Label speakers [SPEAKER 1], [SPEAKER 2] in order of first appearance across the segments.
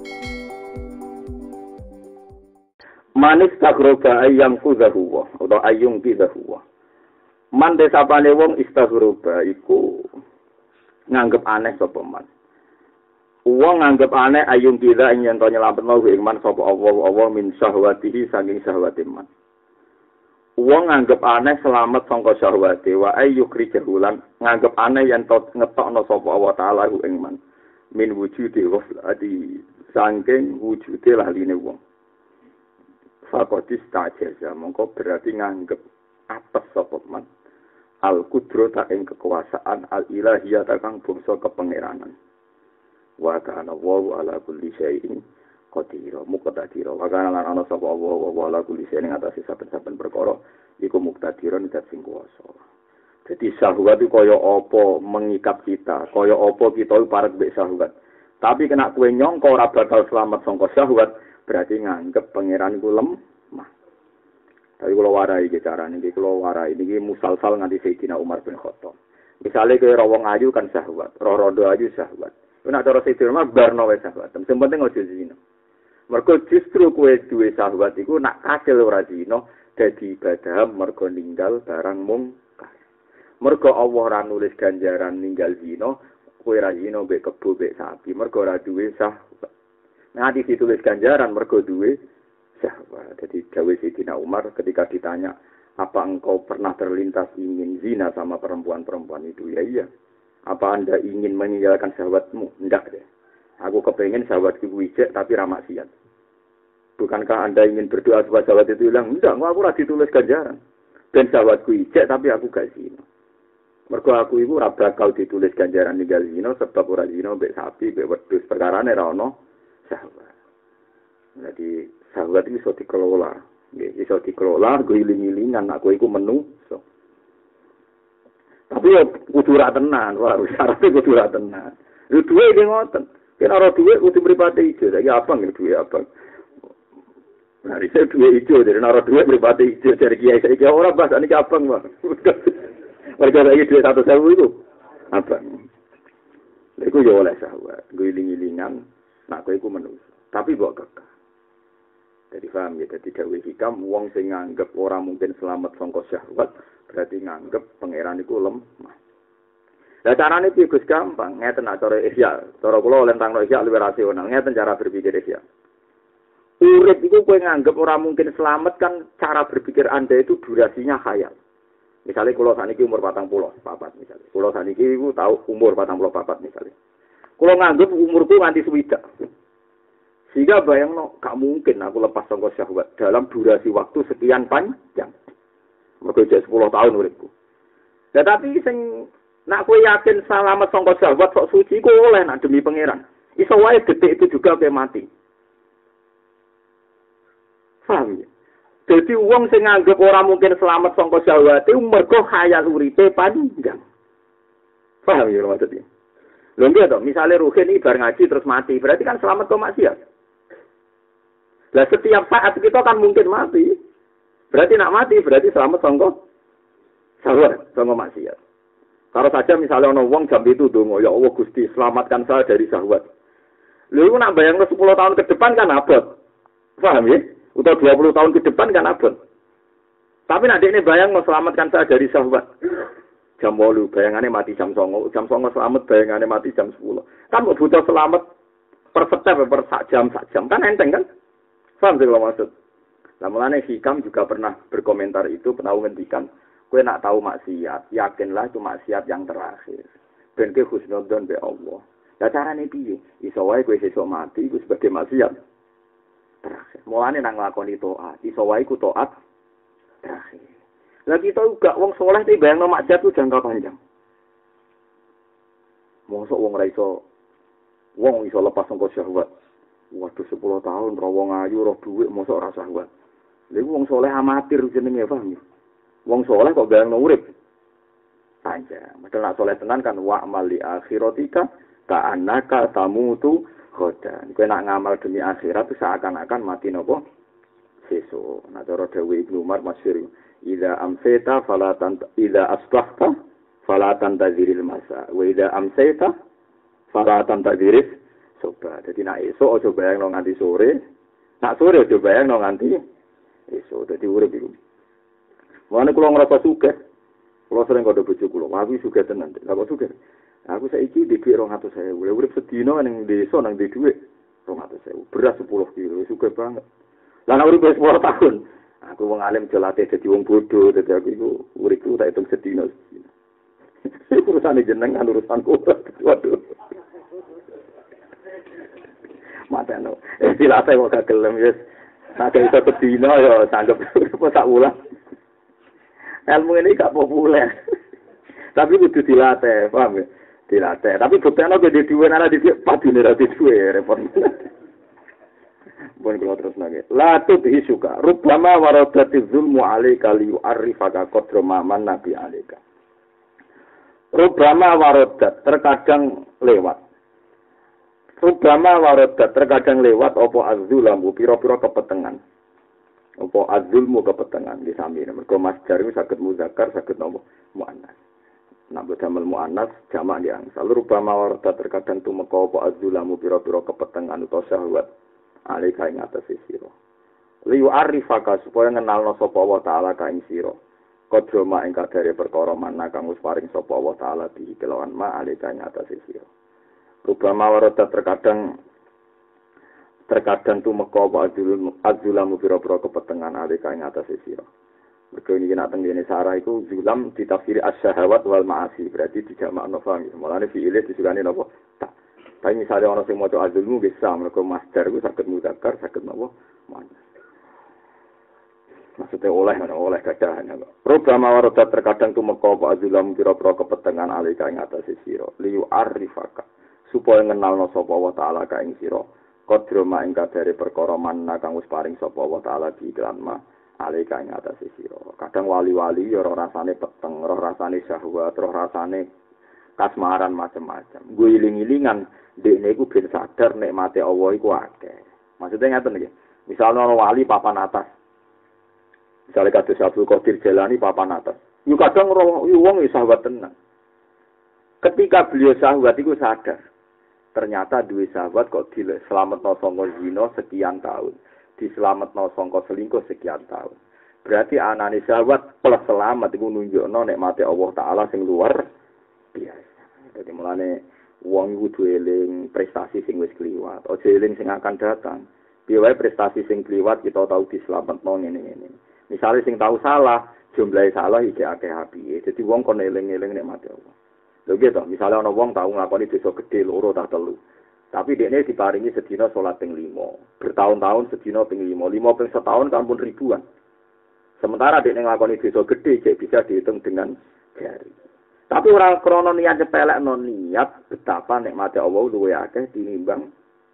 [SPEAKER 1] Manis tagroba ayang kudahuwa atau ayung kidahuwa. Man desapane wong istaghroba iku nganggep aneh sapa man. Wong nganggep aneh ayung kida ing yen to nyelametno ing man sapa Allah min syahwatihi saking syahwate man. Wong nganggep aneh selamat sangka syahwate wa ayyukri jahulan nganggep aneh yen to ngetokno sapa Allah taala ing man. Min wujudi ghaflati saking wujude laline wong. Fakotis tajaza mongko berarti nganggep atas sapa man al kudrata ing kekuasaan al ilahiyah kang bangsa kepangeranan wa kana wa ala kulli syai'in qadir muqtadir wa kana lan ana sapa wa ala kulli syai'in atase saben-saben perkara iku muqtadirun dat sing kuwasa. Dadi syahwat iku kaya apa mengikat kita, kaya apa kita parek mbek syahwat. Tapi kena kowe nyangka ora bakal selamat sangka syahwat, berarti nganggep pangeran iku lemah. Tapi kalau warai iki carane iki kalau warai iki musalsal nganti Sayyidina Umar bin Khattab. Misale kowe rawong ayu kan syahwat, rodo ayu syahwat. Nek cara Sayyidina Umar barno wae syahwat. Sing penting aja zina. Mergo justru kowe duwe syahwat iku nak kasil ora zina dadi ibadah mergo ninggal barang mungkar. Mergo Allah ora nulis ganjaran ninggal zina, kowe ra zina mbek kebo mbek sapi, mergo ora duwe syahwat. Nanti ditulis ganjaran mergo duwe syahwat. Jadi Dawe Sayyidina Umar ketika ditanya, apa engkau pernah terlintas ingin zina sama perempuan-perempuan itu? Ya iya. Apa anda ingin meninggalkan syahwatmu? Enggak deh. Aku kepengen syahwatku wijek tapi ramah maksiat. Bukankah anda ingin berdoa supaya syahwat itu hilang? Enggak, aku ora ditulis ganjaran. Dan syahwatku wijek tapi aku gak zina. Mergo aku iku ora bakal ditulis ganjaran ninggal zina sebab ora zina mbek sapi, mbek wedhus perkarane ra ono syahwat. Jadi syahwat itu bisa dikelola. Bisa dikelola, guling-gilingan, aku itu menungso. Tapi ya kudu ra tenan, wah syaratnya kudu ra tenan. Lu duwe iki ngoten. Yen ora duwe kudu mripate ijo, ya abang ya duwe abang. Nah, iki duwe ijo, dari ora duwe mripate ijo dari kiai saiki ora bahasane abang, Bang. Warga lagi duwe 100.000 itu. Abang. Iku yo oleh syahwat, guling-gilingan, nak kowe iku menungso. Tapi mbok kekeh. Jadi paham ya, jadi dawe hikam, wong sing nganggep orang mungkin selamat sangka syahwat, berarti nganggep pangeran iku lemah. Lah carane piye Gus gampang, ngeten nak cara ihya, cara kula lentangno ihya luwih rasional, ngeten cara berpikir ihya. Urip iku kowe nganggep orang mungkin selamat kan cara berpikir Anda itu durasinya khayal. Misalnya kula saniki umur 44 misalnya. Kula saniki iku tahu umur 44 misalnya. Kula nganggep umurku nganti 60. Sehingga bayangno, gak mungkin aku lepas sangka syahwat dalam durasi waktu sekian panjang. Mergo 10 tahun uripku. Ya tapi sing nak kowe yakin selamat sangka syahwat sok suci ku oleh nak demi pangeran. Iso wae detik itu juga kowe mati. Paham ya? Jadi wong sing nganggep ora mungkin selamat sangka syahwat itu mergo khayal uripe panjang. Paham ya maksudnya? Lho nggih to, misale Ruhin iki bar ngaji terus mati, berarti kan selamat kok maksiat. Lah setiap saat kita kan mungkin mati. Berarti nak mati berarti selamat sangka syahwat, sangka maksiat. Kalau saja misalnya ana wong jam itu donga, ya Allah Gusti, selamatkan saya dari syahwat. Lha iku nak bayangno 10 tahun ke depan kan abot. Paham ya? Atau 20 tahun ke depan kan abot. Tapi nak dekne bayangno selamatkan saya dari syahwat. Jam 8 bayangannya mati jam 9, jam 9 selamat bayangannya mati jam 10. Kan butuh selamat per step per sak jam kan enteng kan? Paham sih kalau maksud. Nah, mulanya Hikam juga pernah berkomentar itu, pernah ngendikan, kowe nak tahu maksiat, yakinlah itu maksiat yang terakhir. Ben kowe husnudzon be Allah. Lah carane piye? Iso wae kowe sesuk mati iku sebagai maksiat terakhir. Mulane nang nglakoni taat, iso wae ku taat terakhir. Lah kita juga wong saleh iki bayangno maksiat ku jangka panjang. Mosok wong ra iso lepas sangka syahwat. Waduh 10 tahun ra wong ayu roh dhuwit mosok ora syahwat. Lha iku wong saleh amatir jenenge paham ya. Wong saleh kok bayangno urip panjang. Padahal nek saleh tenan kan wa amali akhiratika ka'annaka tamutu khodan. Kowe nak ngamal demi akhirat itu seakan-akan mati napa sesuk. Nah cara dawuh Ibnu Umar masyhur, idza amsayta fala idza asbahta fala tantaziril masa wa idza amsayta fala tantaziril Sobat. Dadi nek esuk aja bayangno nganti sore. Nak sore aja bayangno nganti esuk. Dadi urip iku. Mulane kula ngrasa sugih. Kula sering kandha bojo kula, aku sugih tenan. Lah kok sugih? Aku saiki di dhuwit 200.000. Urip sedina ning desa nang di dhuwit 200.000. Beras 10 kilo, sugih banget. Lah nek urip 10 tahun, aku wong alim jelate dadi wong bodoh, dadi aku iku uripku tak hitung sedina. Urusane jenengan urusanku. Waduh. Mateno. Dilate kok gak gelem wis. Nek iso sedina ya sanggep sak wulan. Ilmu ini gak populer. Tapi kudu dilatih, paham ya? Dilatih. Tapi buktinya kalau di duwe nara di padune ra di duwe repot. Bon kalau terus nage. La tudhi suka. Rubbama waradati zulmu alaika li yu'arrifaka qadra man nabi alaika. Rubbama waradat terkadang lewat. Rubbama waradat terkadang lewat apa azzulamu pira-pira kepetengan. Apa azulmu kepetengan di samping. Mergo masdar itu saged muzakkar, saged nopo muannas. Nek damel muannas jamak di angsal. Rubama warda terkadang tumeka apa azulamu pira-pira kepetengan utawa syahwat. Alika ing atase sira. Li arifaka supaya ngenalno sapa Allah taala ka ing sira. Kodroma ing kadare perkara mana kang wis paring sapa Allah taala di kelawan ma alika ing atase sira. Rubama warda terkadang tumeka apa azulamu pira-pira kepetengan alika ing atase sira. Mergo iki nek tengene Sarah iku zulam ditafsiri as-syahawat wal ma'asi, berarti dijamakno faham. Mulane fi'ile disukani napa? Tak. Tapi misalnya ana sing maca azulmu wis sam, mergo masdar iku saged muzakkar, saged napa? Muannas. Maksudnya oleh kadahan. Rubama warada terkadang tumeka apa azulamu pira-pira kepetengan alika ing atase sira. Liyu arifaka supaya ngenalno sapa wa ta'ala ka ing sira. Kodroma ing kadare perkara manna kang wis paring sapa wa ta'ala di iklan ma alika ing atase sira. Kadang wali-wali ya ora rasane peteng, ora rasane syahwat, ora rasane kasmaran macam-macam. Gue iling-ilingan dekne iku ben sadar nikmate Allah iku akeh. Maksudnya ngaten iki. Misalnya ana wali papan atas. Misalnya kados Abdul Qadir Jalani papan atas. Yo kadang wong syahwat tenan. Ketika beliau syahwat iku sadar. Ternyata duwe sahabat kok diselametno saka zina sekian tahun, diselametno saka selingkuh sekian tahun. Berarti anane sahabat plus selamat iku nunjukno nikmate Allah taala sing luar biasa. Dadi mulane wong iku duwe eling prestasi sing wis kliwat, aja eling sing akan datang. Piye wae prestasi sing kliwat kita tau diselametno ngene-ngene. Misale sing tau salah, jumlahe salah iki akeh apiye. Dadi wong kon eling-eling nikmate Allah. Lho gitu, misalnya ana wong tau nglakoni dosa gedhe loro ta telu. Tapi dekne diparingi sedina salat ping 5. Bertahun-tahun sedina ping 5. 5 ping setahun kan pun ribuan. Sementara dekne nglakoni dosa gedhe cek bisa dihitung dengan jari. Tapi ora krana niat nyepelekno niat betapa nikmate Allah luwih akeh tinimbang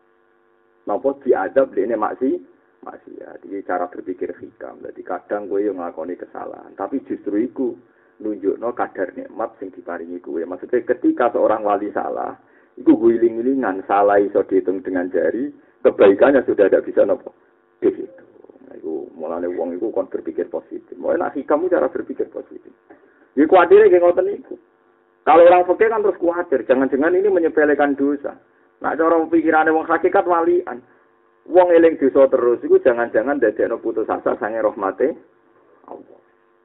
[SPEAKER 1] napa diadab dekne maksiat. Iki cara berpikir hikam. Dadi kadang kowe yo nglakoni kesalahan, tapi justru iku nunjukno kadar nikmat sing diparingi kuwe. Maksudnya ketika seorang wali salah, itu guling-gulingan salah iso dihitung dengan jari, kebaikannya sudah tidak bisa nopo. Di situ. Nah, itu mulane wong iku kon berpikir positif. Mulane nek kamu cara berpikir positif. Iki kuatire nggih ngoten niku. Kalau orang fikih kan terus kuatir, jangan-jangan ini menyepelekan dosa. Nah, cara pikirane wong hakikat walian. Wong eling dosa terus iku jangan-jangan dadekno putus asa sange rahmate Allah.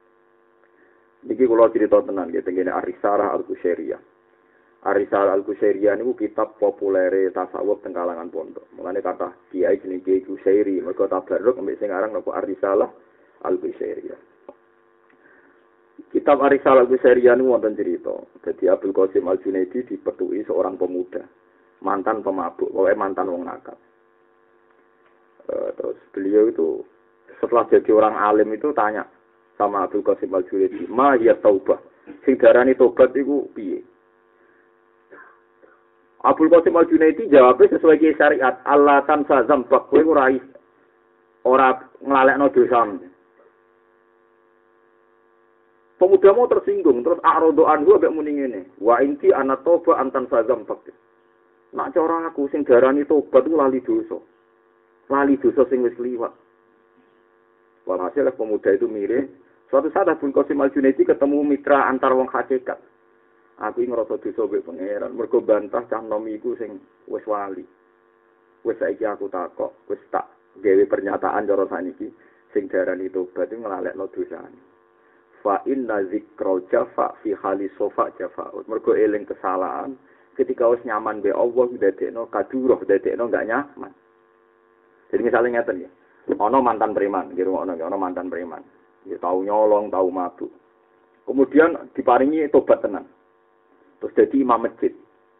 [SPEAKER 1] Niki kula cerita tenan nggih tengene Ar-Risalah Al-Qusyairiyah. Ar-Risalah Al-Qusyairiyah niku kitab populere tasawuf teng kalangan pondok. Mulane kata kiai jenenge Kiai Qusyairi, mergo tabarruk ambek sing aran napa Ar-Risalah Al-Qusyairiyah. Kitab Ar-Risalah Al-Qusyairiyah niku wonten cerita. Dadi Abdul Qasim Al-Junaidi dipethuki seorang pemuda, mantan pemabuk, pokoknya mantan wong nakal. Terus beliau itu setelah jadi orang alim itu tanya sama Abdul Qasim Al-Junaidi, "Ma ya taubah?" Sing darani tobat iku piye? Abdul Qasim Al-Junaidi jawabnya sesuai ki syariat, "Allah tansa zambak kowe ora nglalekno dosamu." Pemuda mau tersinggung, terus a'radu anhu ambek muni ngene, "Wa inti ana toba antan zambak." Nak cara aku sing darani tobat iku lali dosa. Lali dosa sing wis liwat. Walhasil pemuda itu mirip. Suatu saat Abdul Qasim Al-Junaidi ketemu mitra antar wong hakikat. Aku ngrasa dosa mbek pangeran, mergo bantah cah nom iku sing wis wali. Wis saiki aku takok, wis tak gawe pernyataan cara saniki sing darani tobat iku nglalekno dosane. Fa inna zikrul jafa fi hali sofa jafa. Mergo eling kesalahan ketika wis nyaman be Allah dadekno kaduruh, dadekno enggak nyaman. Jadi misalnya ngeten ya. Ana mantan preman, nggih ana mantan preman. Ya tau nyolong, tau mabuk. Kemudian diparingi tobat tenan. Terus jadi imam masjid.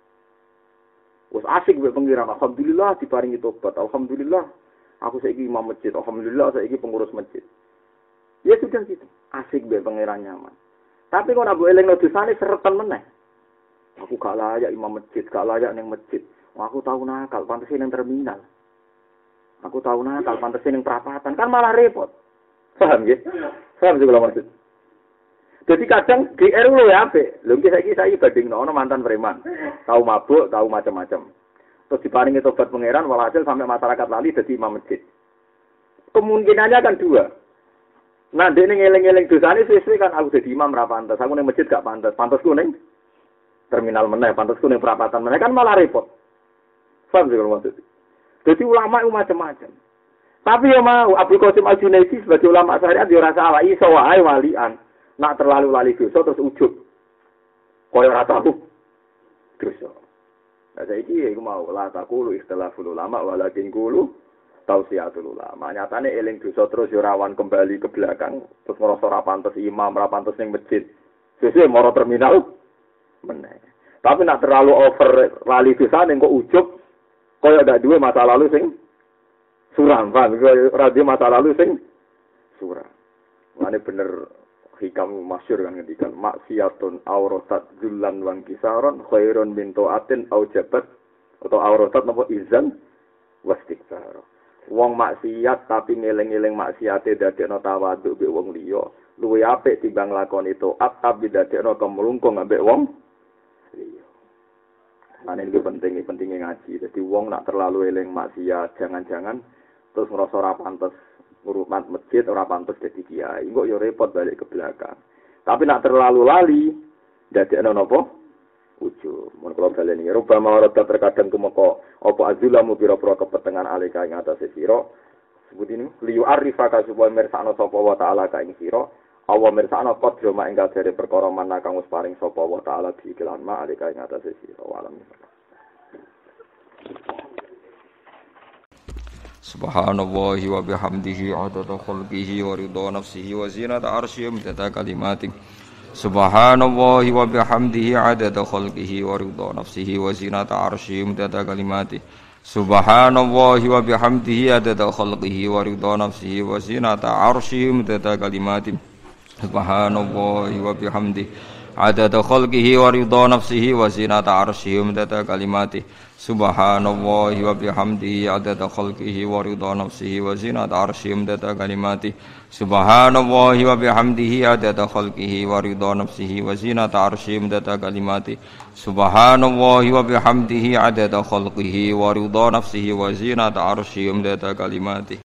[SPEAKER 1] Wes asik mbek pengiran, alhamdulillah diparingi tobat. Alhamdulillah aku saiki imam masjid. Alhamdulillah saiki pengurus masjid. Ya sudah gitu. Asik mbek pengiran nyaman. Tapi kok nek mbok elingno dosane seretan meneh. Aku gak layak imam masjid, gak layak ning masjid. Aku tahu nakal, pantes ning terminal. Aku tahu nakal, pantes ning perapatan. Kan malah repot. Paham nggih? Paham sih kalau maksud. Jadi kadang GR lu ya apik. Lho iki saiki bandingno ana mantan preman. Tahu mabuk, tahu macam-macam. Terus diparingi tobat pangeran walhasil sampai masyarakat lali dadi imam masjid. Kemungkinannya kan dua. Nah, dene ngeling-eling dosane suwe-suwe kan aku dadi imam ra pantes. Aku ning masjid gak pantes. Pantesku ning terminal meneh, pantesku ning perapatan meneh kan malah repot. Paham sih kalau maksud. Jadi ulama itu macam-macam. Tapi ya mau Abdul Qasim Al-Junaidi sebagai ulama syariat dia rasa salah iso wae walian. Nak terlalu lali dosa terus ujub. Kaya ora tahu dosa. Nah saiki iku mau la taqulu ikhtilaful ulama walakin qulu tausiatul ulama. Nyatane eling dosa terus yo rawan kembali ke belakang terus ngrasa ora pantes imam, ora pantes ning masjid. Sesuk moro terminal meneh. Tapi nak terlalu over lali dosane kok ujub kaya ndak duwe masa lalu sing suram, Pak. Ora duwe masa lalu sing suram. Mane bener hikam masyhur kan ngendikan maksiatun auratat dzullan wan kisaron khairun min taatin au jabat atau auratat napa izan wastikbar. Wong maksiat tapi ngeling-eling maksiate dadekno tawadhu mbek wong liya luwih apik timbang lakoni taat tapi dadekno kemlungkung ambek wong liya. Ane iki pentingnya ngaji. Jadi wong nak terlalu eling maksiat jangan-jangan terus ngerasa ora pantes urutan masjid, ora pantes dadi kiai. Engko yo repot balik ke belakang. Tapi nak terlalu lali, dadekno napa? Ujub. Mun kula baleni rubama warada terkadang tumeka apa azulamu pira-pira kepetengan alika ing atase sira. Sebut ini liyu arifaka supaya mirsakno sapa wa taala ka ing sira. Awa mirsakno qadra ing kadare perkara mana kang wis paring sapa wa taala diiklan ma alika ing atase sira. Walam. Subhanallahi wa bihamdihi adada khalqihi wa ridha nafsihi wa zinata arsyihi midada kalimatihi. Subhanallahi wa bihamdihi adada khalqihi wa ridha nafsihi wa zinata arsyihi midada kalimatihi. Subhanallahi wa bihamdihi adada khalqihi wa ridha nafsihi wa zinata arsyihi midada kalimatihi. Subhanallahi wa bihamdihi adada khalqihi wa ridha nafsihi wa zinata arsyihi midada kalimatihi. Subhanallahi wa bihamdihi adada khalqihi wa ridha nafsihi wa zinata arsyihi midada kalimatihi. Subhanallahi wa bihamdihi adada khalqihi wa ridha nafsihi wa zinata arsyihi midada kalimatihi. Subhanallahi wa bihamdihi adada khalqihi wa ridha nafsihi wa zinata arsyihi midada kalimatihi.